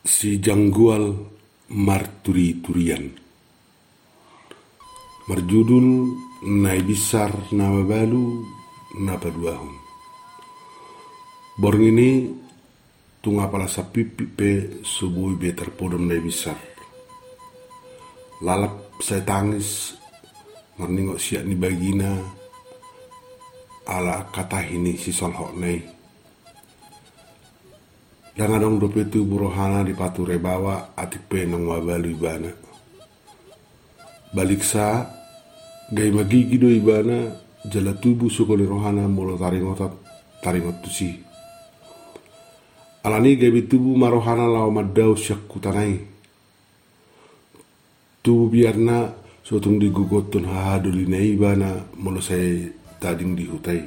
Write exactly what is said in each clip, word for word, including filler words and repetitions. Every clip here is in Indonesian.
Si Janggual Marturi-turian. Marjudul nai bisar nama balu napa duahun. Borng ini tunga pala sapipi pe subui be terpodom nai bisar. Lalap saya tangis marningok siak ni bagina ala kata ini si solhok nai. Dan adong dope tu burohana di pature bawa atik pe nang wabalu ibana. Balik sa gai magigi do ibana jala tubu sukoli rohana molo taringotat taringot tusi. Alani gai tubu marohana lao madau syak kutanai. Tubu biarna sotung digugotun hahaduli na ibana molo saya tading dihutai.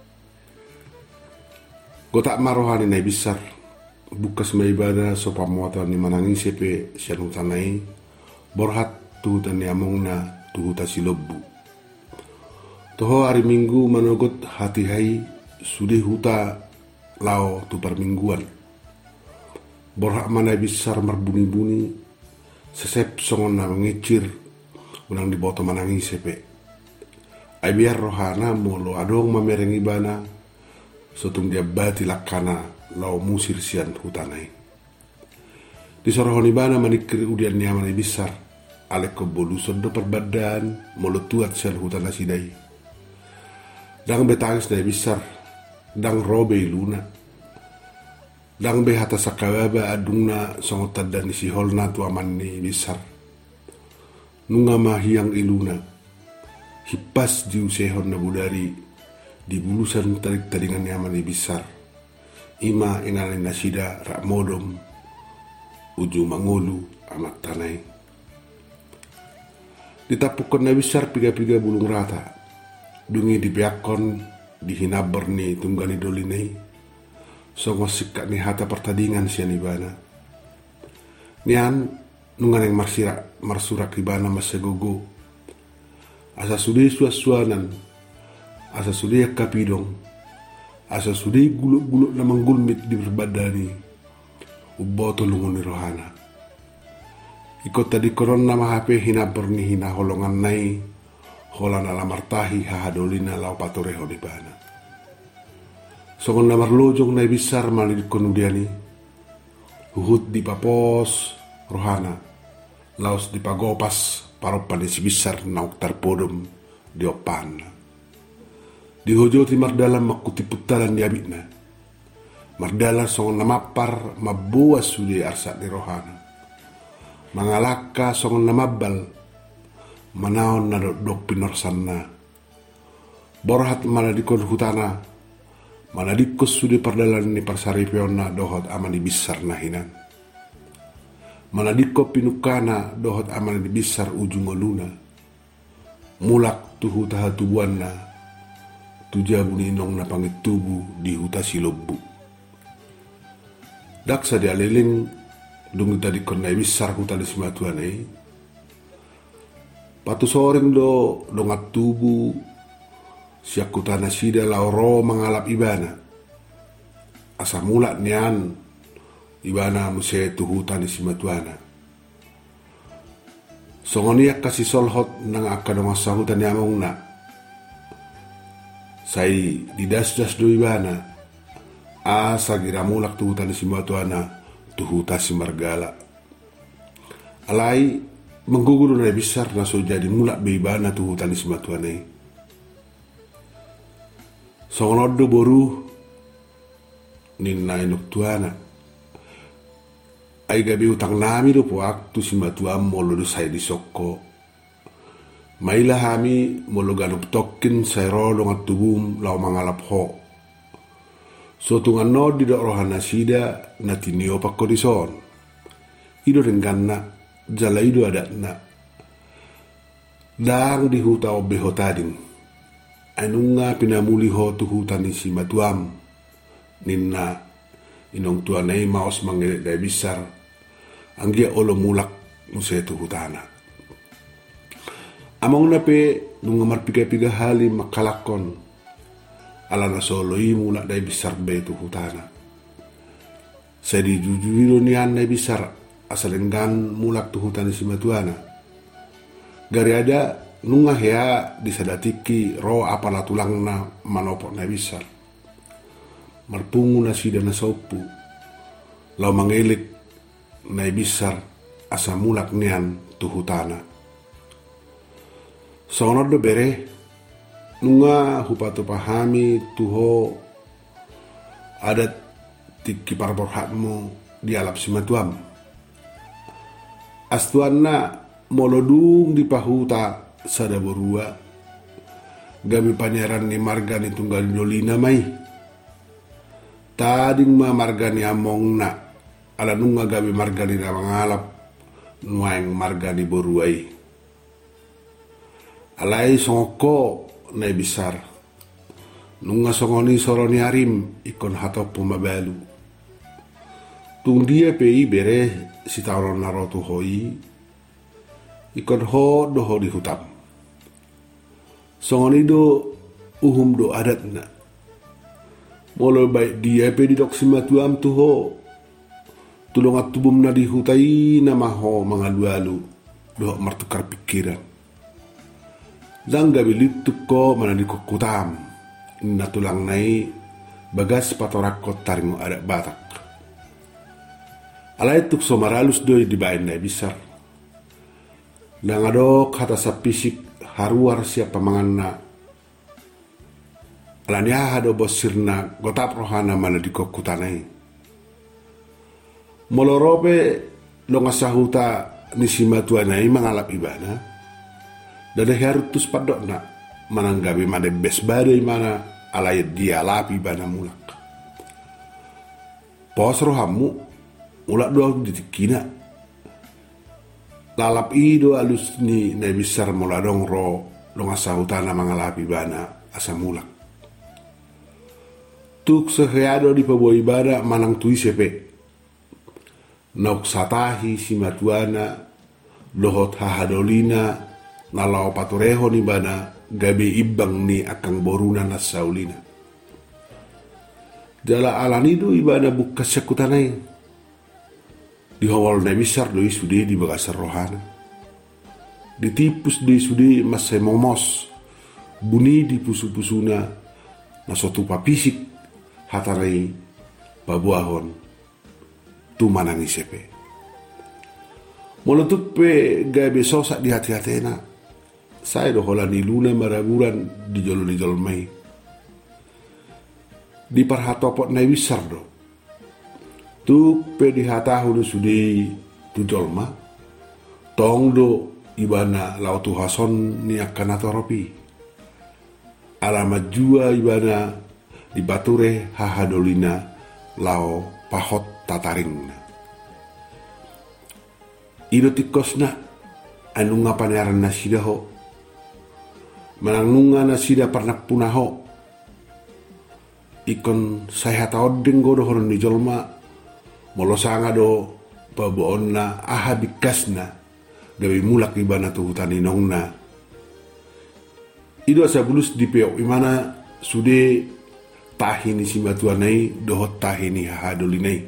Gotak marohani na bisar. Bukas may ibada so pamuatan ni manangin sepe siyan hutanay borhat tuhutan ni among na tuhuta si lobbu. Toho hari minggu manogot hati hai sudi huta lao tu permingguan. Borhat mana bisar marbuni-buni sesep songon na mengicir unang diboto manangin sepe. Ay biar rohana molo adong mamereng ibana sotung dia bati lakana lau musir sian hutanai. Di sorohoni bana manikri udian nyaman bisar alek ko boluson do perbadan molo tuat sian hutana sidai. Dang betangis na bisar dang robe luna. Dang be hata sakababa adungna songotan dan isi holna tu aman ni bisar. Nunga mahiyang iluna. Hipas di usehon na budari di bulusan tarik taringan nyaman ni bisar. Ima inalin nasida rak modom uju mangolu amat tanai. Ditapukan na bisar piga-piga bulung rata. Dungi dibiakon dihinabar ni tunggani dolinai. Songos sikak ni hata pertandingan sian ibana. Nian nungan yang marsirak marsurak ibana masegogo. Asa sudi suas-suanan. Asa sudi kapidong. Asa sudi guluk-guluk na manggulmit di berbadani uboto lungun ni rohana. Ikut tadi koron nama H P hina berni hina holongan nai holan ala martahi hahadolina lau patoreho di bana. Songon namar lojong nai bisar mali konudiani huhut di papos rohana laos di pagopas paropan di si bisar nauk tarpodom di opan. Di hojo ti mardala makuti putaran di abitna. Mardala songon namapar mabuas sudi arsat di rohana. Mangalaka songon namabal manaon na dok pinorsanna. Borhat mana dikon hutana. Mana dikos sudi pardalan ni parsaripiona dohot aman di bisar nahinan. Mana dikko pinukana dohot aman di bisar ujung oluna. Mulak tuhu taha tubuanna. Tujabu ni inong na pangit tubu di huta si lobbu. Daksa di aliling dungi tadi konai bisar huta di simatuanai. Patu soreng do dongat tubu siak kutana sida lauro mangalap ibana. Asa mulak nian ibana musetu huta di simatuana. Songoniak kasih solhot nang akadong asa huta ni among na. Sai didas-das do ibana asa gira mulak tuhutan si matuana tuhuta si margala. Alai mengguguru na bisar na so jadi mulak be ibana tuhutan si matuana. Songonodo boru ninna inuk tuana. Ai gabi utang nami do po waktu si matuam molo do sai di sokko. Maila hami molo ganup tokin sayro dongat tubum lau mangalap ho. So tungan no di dok rohana sida na tinio pakko dison. Ido rengganna jala ido adatna. Dang di huta obe ho tading. Anunga pinamuli ho tu hutan si matuam. Ninna inong tuanay maos mangedek day bisar. Anggia olo mulak musetu hutana. Among na pe nung marpiga-piga hali makalakon ala na solo imu na day bisar be tu hutana. Saya dijujui nian na bisar asalenggan mulak tu hutan si matuana. Gari ada nungah ya disadatiki ro apala tulang na manopok na bisar. Marpungu na sida na sopu. Lau mangelik na bisar asa mulak nian tu hutana. Sono do bere nunga hupatu pahami tuho adat tiki parborhatmu di alap simatuam. Astuanna molodung di pahuta sada borua gabi panyaran ni margani tunggal dolina mai. Tading ma margani among na ala nunga gabi margani na mangalap nuaing margani boruai. Alai songko na bisar. Nunga songoni soroni arim ikon hatop pumabalu. Tung dia pei bere si tauron narotu hoi. Ikon ho doho di hutam. Songoni do uhum do adat na. Molo baik dia pe di dok simatuam tu ho. Tulong at tubum na di hutai na maho mangalu-alu. Doh martukar pikiran. Zangga bilituk ko mana di kukutam. Na tulang nai bagas patorakot taringo adak batak. Alay tuk somaralus doy di bain na bisar. Nangadok hata sa pisik haruar siapa mangan na. Alanya hado bosir na gotap rohana mana di kukutanai. Molorope longasahuta nisima tuanai mangalap ibana. Dada harutus padok na mananggabi made bes badai mana alayat dia lapi bana mulak. Pos rohamu mulak doa ditikina. Lalap ido alus ni na bisar muladong ro longasahutana mangalapi bana asa mulak. Tuk seheado di paboi bada manang tui sepe. Nok satahi si matuana dohot hahadolina nalau patureho ni bana gabi ibang ni akang boruna na saulina. Jala alanido ibana bukas sekutanay. Di hawal na bisar doi sudi di bagasar rohana. Ditipus doi sudi masay momos. Buni di pusu-pusuna na suatu papisik hataray babuahon tumanang isepe. Molotuk pe gabi sosak di hati-hatena. Saya dohola ni luna maraguran di jolo di jolmai. Di parhatopot na wisar do. Tuk pe di hatahu do sudi tu jolma. Tong do ibana lau tu hason ni akan atoropi. Alamat jua ibana di bature hahadolina lau pahot tataring. Ido tikosna anu ngapanyaran nasidaho. Manangunga na sida parnak punaho. Ikon saya tahu denggo dohoron di jolma. Molosanga do baboon na aha bikasna. Gawi mulak ibana tu hutan inongna. Ido asa bulus di peok imana sude tahini si matuanai dohot tahini hahadolinai.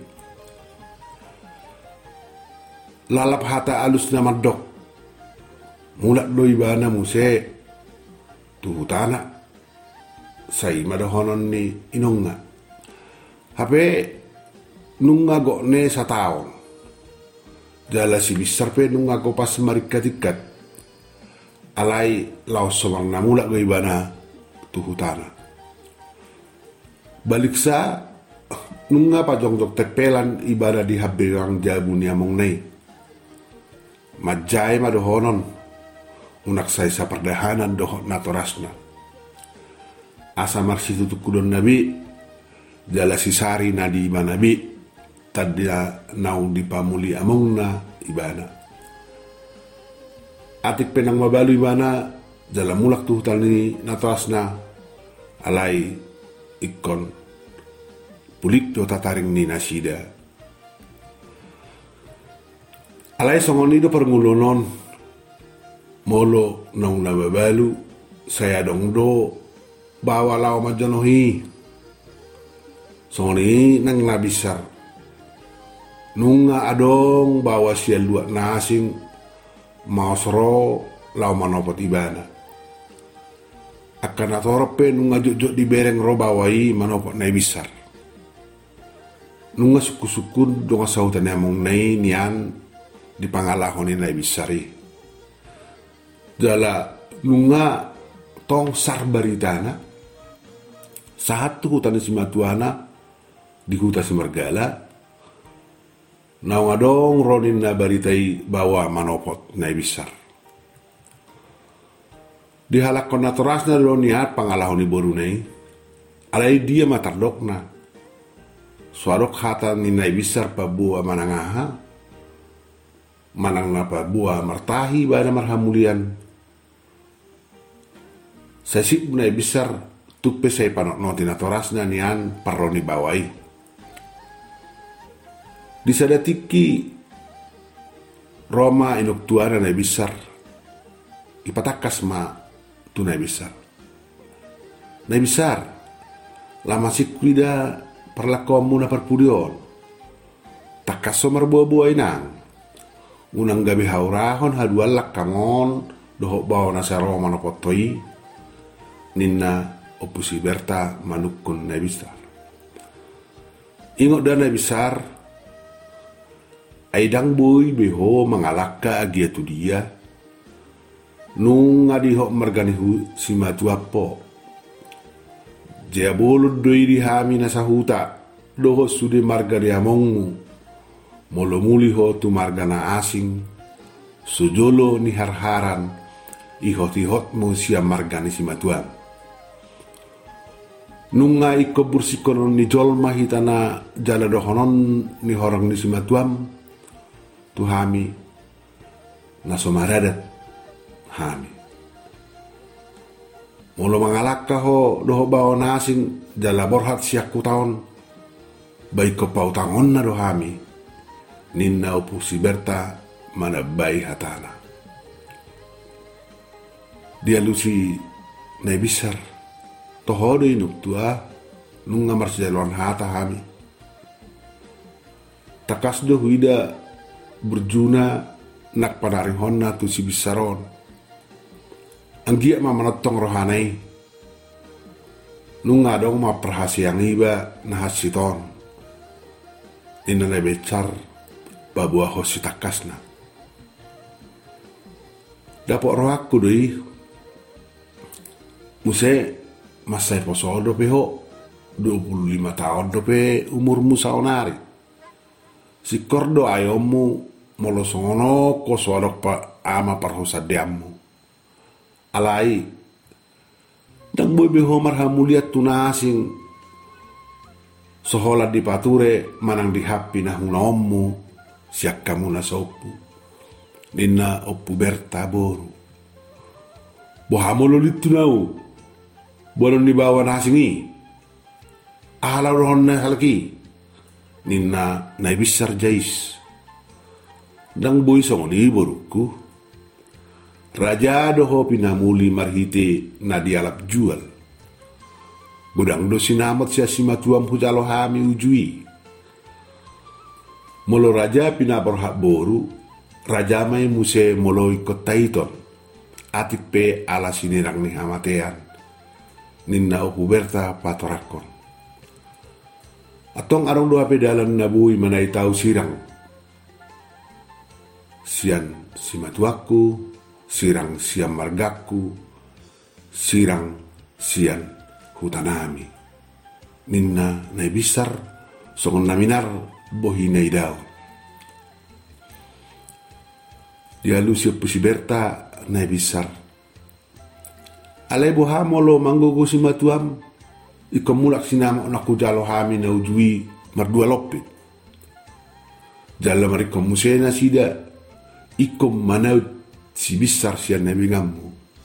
Lalap hata alus nama dok. Mulak do ibana muse. Tu hutana say madahonon ni inonga. Hape nunga go ne sa taon. Jala si bisar pe nunga go pas marikatikat. Alay lao somang namulak go ibana tu hutana. Balik sa nunga pa jongjok tepelan ibada di habirang jabu ni among nay. Majay madahonon. Unak saya sa perdahanan dohot natorasna. Asa marsi tutuk kudon nabi. Jala sisari nadi iba nabi. Tadia nau dipamuli amongna ibana. Atik penang mabalu ibana. Jala mulak tuh tali natorasna. Alay ikon. Pulik do tataring ni nasida. Alay songon itu perngulunon. Molo nang nababalu saya dong do bawa law majanohi. Songoni nang nabisar nunga adong bawa sial dua nasing mau soro lau manopot ibana. Akan atorope nunga jok-jok di bereng ro bawai manopot nai besar. Nunga suku-sukun donga sautan among nai nian di pangalahon nai besari. Jala nunga tong sar baritana satu hutan simatuana di hutan Semergala. Naung adong ronin na baritai bawa manopot nai besar. Dihalak kon naturasna lo niat pangalahon ni borunei. Alai dia matardokna. Suarok hata ni nai besar pa buah manangaha. Manang na pa buah martahi bana marhamulian. Sesip nai besar tukpe say panok noti naturasna nian paroni bawai. Disadatiki Roma inuk tuana nai besar. Ipatakas ma tunai besar. Nai besar lama sikwida perlakuanmu na perpudion. Takaso marbuah-buah inang. Unang gabi haurahon hadualak kangon dohok bawa nasa Roma nopotoi. Ninna opusi berta manukun nai besar. Ingot dan nai besar. Aidang boy beho mangalaka agia tu dia. Nung adihok marganihu si matuapo. Jia bolod doi dihami nasa huta. Doho sude margani amongmu. Molo muliho tu margana asing. Sujolo ni harharan. Ihot-ihot mo siya margani si matuam. Nunga iko bursikonon ni jolma hitana jala dohonon ni horang ni si matuam. Tu hami nasomaradat hami. Molo mangalaka ho doho bawa nasing jala borhat siak kutaon. Baik ko pautangon na do hami. Ninna upu si berta mana bayi hatana. Dia lusi nai besar. Tohodo inuk tua nunga marsijaluan hata hami. Takas do huida berjuna nak panaring honna tu si bisaron. Anggia ma manotong rohanai. Nunga dong ma perhasiang iba nahasiton. Ina na becar babua hosi takasna. Dapok rohaku doi. Muse masai posodo peho dua puluh lima tahun dope umurmu saonari. Si kordo ayomu molo songono ko suadok pa ama parhosa diammu. Alai dang boy beho marhamuliat tunasing sohola di pature manang dihapi nah unaommu siak kamu na sopu. Nina oppu berta boru. Bohamolo litu nau. Bolon dibawa nasingi. Ala rohon na halaki. Nina nai besar jais. Dang boy songoni boruku. Raja doho pinamuli marhite na dialap jual. Budang do sinamat siya simatuam hujalo hami ujui. Molo raja pinaborhak boru. Raja may muse moloi kotaiton. Atik pe ala sinirang ni hamatean. Ninna upu berta patorakon. Atong arong doa pedalan nabui manay tau sirang. Sian simatuaku, sirang siam margaku, sirang sian hutanami. Ninna nai bisar, songon naminar bohinay daw. Dialu siya pusiberta nai bisar. Alay bohamolo manggugo si matuam, ikamulak sinama naku jalo hami na ujui mardua lopit. Jala marikom musena sida, ikom manaut si bisar siya nabingammu.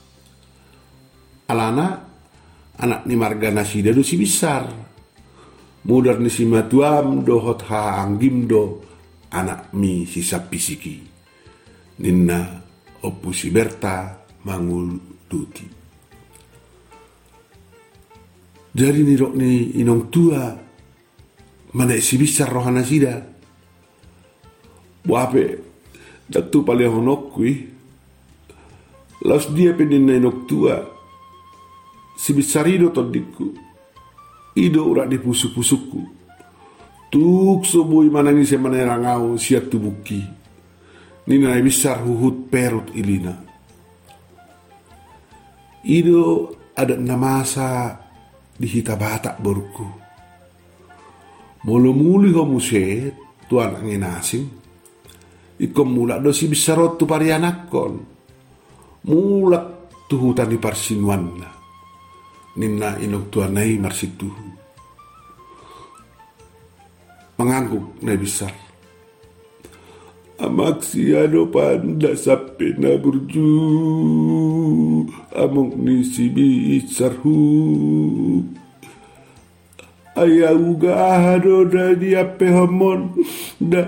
Alana, anak ni margana sida do si bisar. Mudar ni si matuam dohot haanggim do anak mi si sapisiki. Ninna opu si berta mangul duti. Jadi nirok ni inong tua mana si bisar rohana sida. Buape dak tu paling honok kui. Laos dia peninai nok tua. Si bisarido todiku. Ido ura di pusuk-pusukku. Tuk sobui manangi se manerangau siat tubuki. Nina besar huhut perut ilina. Ido ada namasa di hitabata borku. Molo muli homu set tuan angin asing. Ikom mulak dosi bisarot tu parianakon. Mulak tu hutan di parsinuanna. Nina inok tuanai marsitu. Mengangguk na besar. Amak siano panda sape na burju. Amok ni si bisarhu. Ayaw gahado na di ape hamon. Da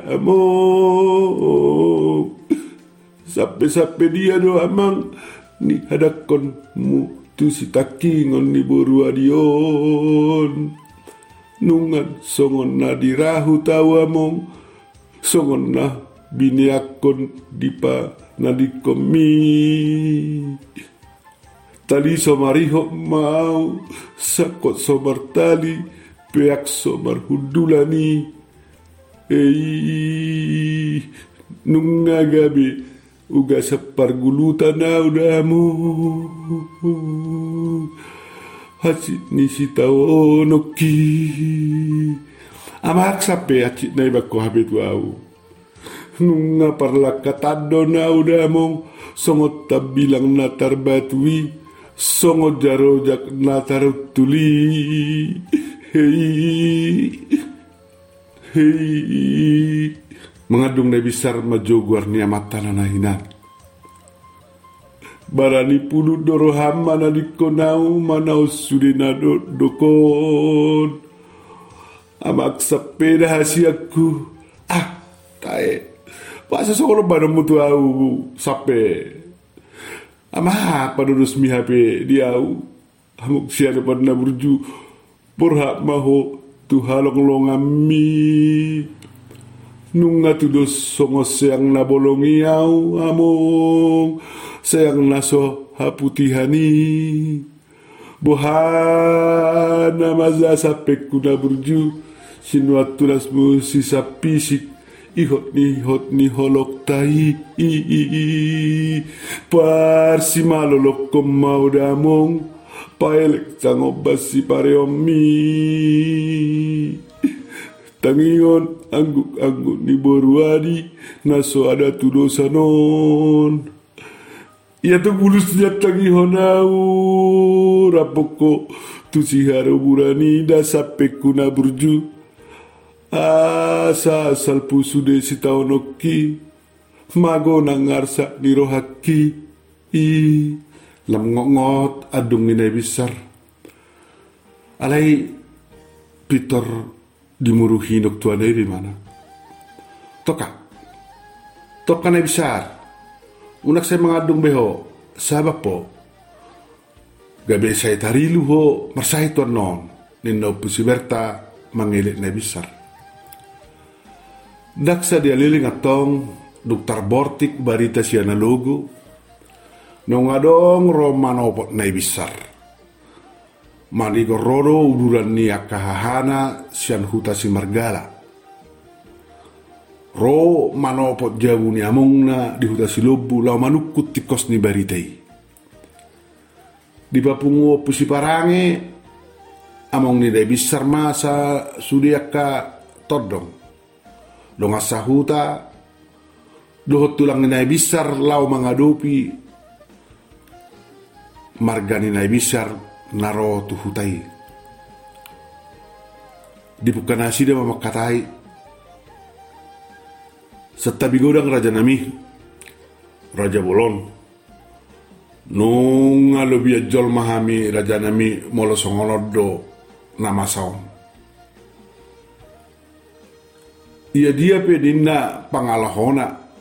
amok. Sape-sape dia do amang. Ni hadakon mu tu si takingon ni boru adion. Nungan songon na dirahu tawa mong. Songon na biniakon dipa nadikomi. Tali somariho mau sakot somar tali peak somar hudulani. Ei nunga gabi uga sapar gulutan na udamu. Hacit ni si tao noki. Amak sape hacit na iba ko habit wau. Nunga parlakatado na udamong. Songot tabilang na tarbatwi. Songot jarojak na tarutuli. Hei. Hei. Mengadung na besar majogwar niya mata na nahinan. Barani pulu doro hama na dikonau manau sudinado dokon. Amak sepeda hasiaku. Ah, tae. Paksa sokolo bana mutu au sape. Ama padurus mi hape diau. Amuk siada pada burju. Porhak maho tu halong longami. Nunga tudos songos yang na bolongi au among. Sayang naso haputihani. Bohana maza sape kuna burju. Sinuatulas mu sisa pisik. Ihot ni hot ni holok tai. Parsi malolok kom mau damong. Paelek sangobas si pareomi. Tangingon angguk-angguk ni boruadi. Naso ada tudosanon. Ia tu bulusnya tangi honau. Rapoko tu si haro burani da sape kuna burju. Asa asal pusu de si taonoki. Mago nangarsa ni rohaki. I lam ngot adung ni besar. Alai Peter dimuruhi nok tuan dari mana? Toka. Toka na besar. Unak saya mengadung beho. Sabab po. Gabe saya tarilu ho marsai tuan non. Nino pusiberta mangilik na besar. Daksa dia liling atong dokter Bortik barita si analogo. Nong adong romanopot na ibisar. Manigo rodo uduran ni akahahana sian huta si margala. Ro manopot jabu ni among na di huta si lobu lau manukut tikos ni baritai. Di papungo pusi parange among ni da ibisar masa sudiaka todong. Donga sahuta dohot tulang ni besar lau mangadopi margani nai besar naro tu hutai. Di pukanasi dia mamakatai setabi godang raja nami Raja Bolon nung alobia jol mahami raja nami molo songolodo nama saom. Ia dia pe dinna pangalahona.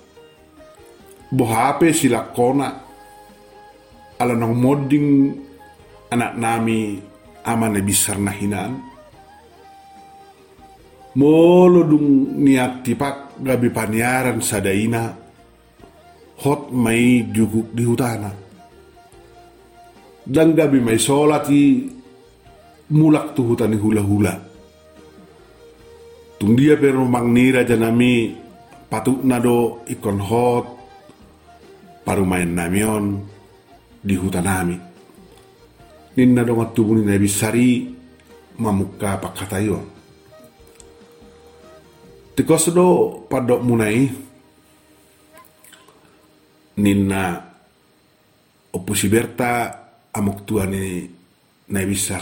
Bohape silakona. Ala nang moding anak nami amane bisar na hinaan. Molo dung niat tipak gabi paniaran sadaina hot mai juguk di hutana. Dan gabi mai solati mulak tu hutani hula-hula. Tung dia pero mangnira janami patuk nado ikon hot paru main namion di hutanami. Ninna do matubuni na bisari mamuka pakatayon. Tikos do padok munai ninna opusi berta amok tuani na bisar.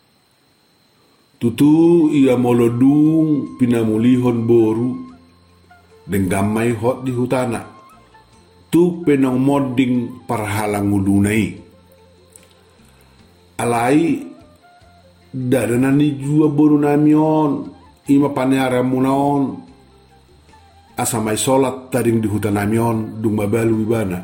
Tutu ia molodung pinamulihon boru denggamai hot di hutana. Tu penong moding parhalang ngulunai. Alai dadanani jua boru namion ima paniara munaon asamai solat taring di hutan namion dung babalu ibana.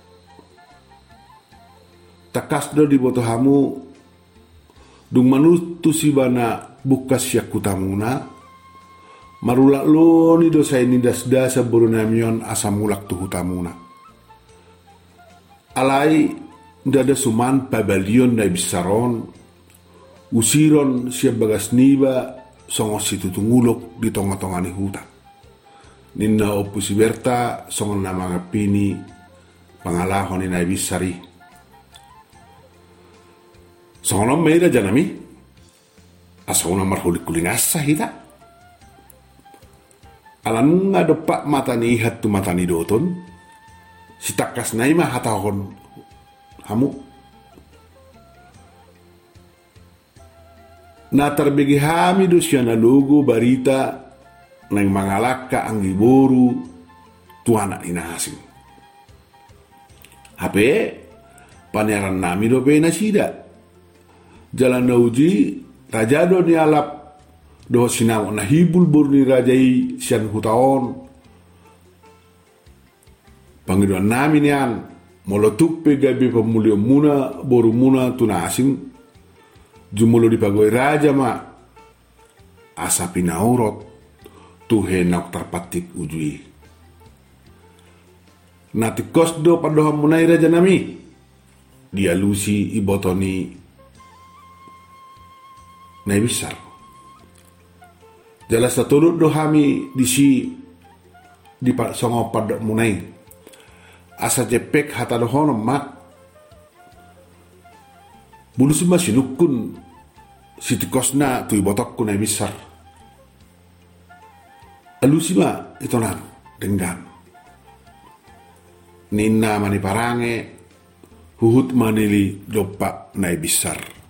Takas do di botohamu dung manutu si bana bukas yak kutamuna marulak lo ni dosa ini das-dasa boru namion asamulak tu hutamuna. Alai dada suman pabalion na bisaron usiron siya bagas niba songo situ tungulok di tonga-tongani huta. Ninna opusi berta songo na mga pini pangalahon ni na bisari. Songo na meira janami asongo na marhulik kulingasa hita. Alam nga dopak mata ni ihat tu mata ni doton si takas na ima hatahon hamu. Na terbigi hamidu siya na lugo barita nang mangalaka ang iboru tuana inahasing. Hape paniaran nami do pe na sida. Jalan na uji rajado ni alap do sinamo na hibul bor ni rajai siyan hutaon. Panginoon namin yan molotuk pe gabi pamulyo muna boru muna tuna asing jumulo di pagoi raja ma asa pinaurot tuhe nak terpatik ujui. Nati kosdo padoham munai raja nami dia lusi ibotoni nai besar. Jelas turut dohami disi di songo padok munai asa jepek hata dohono mak bulu sima sinukun siti kosna tu ibotok ku nai besar. Alu sima itu nang denggam ninna mani parange huhut manili dopak nai besar.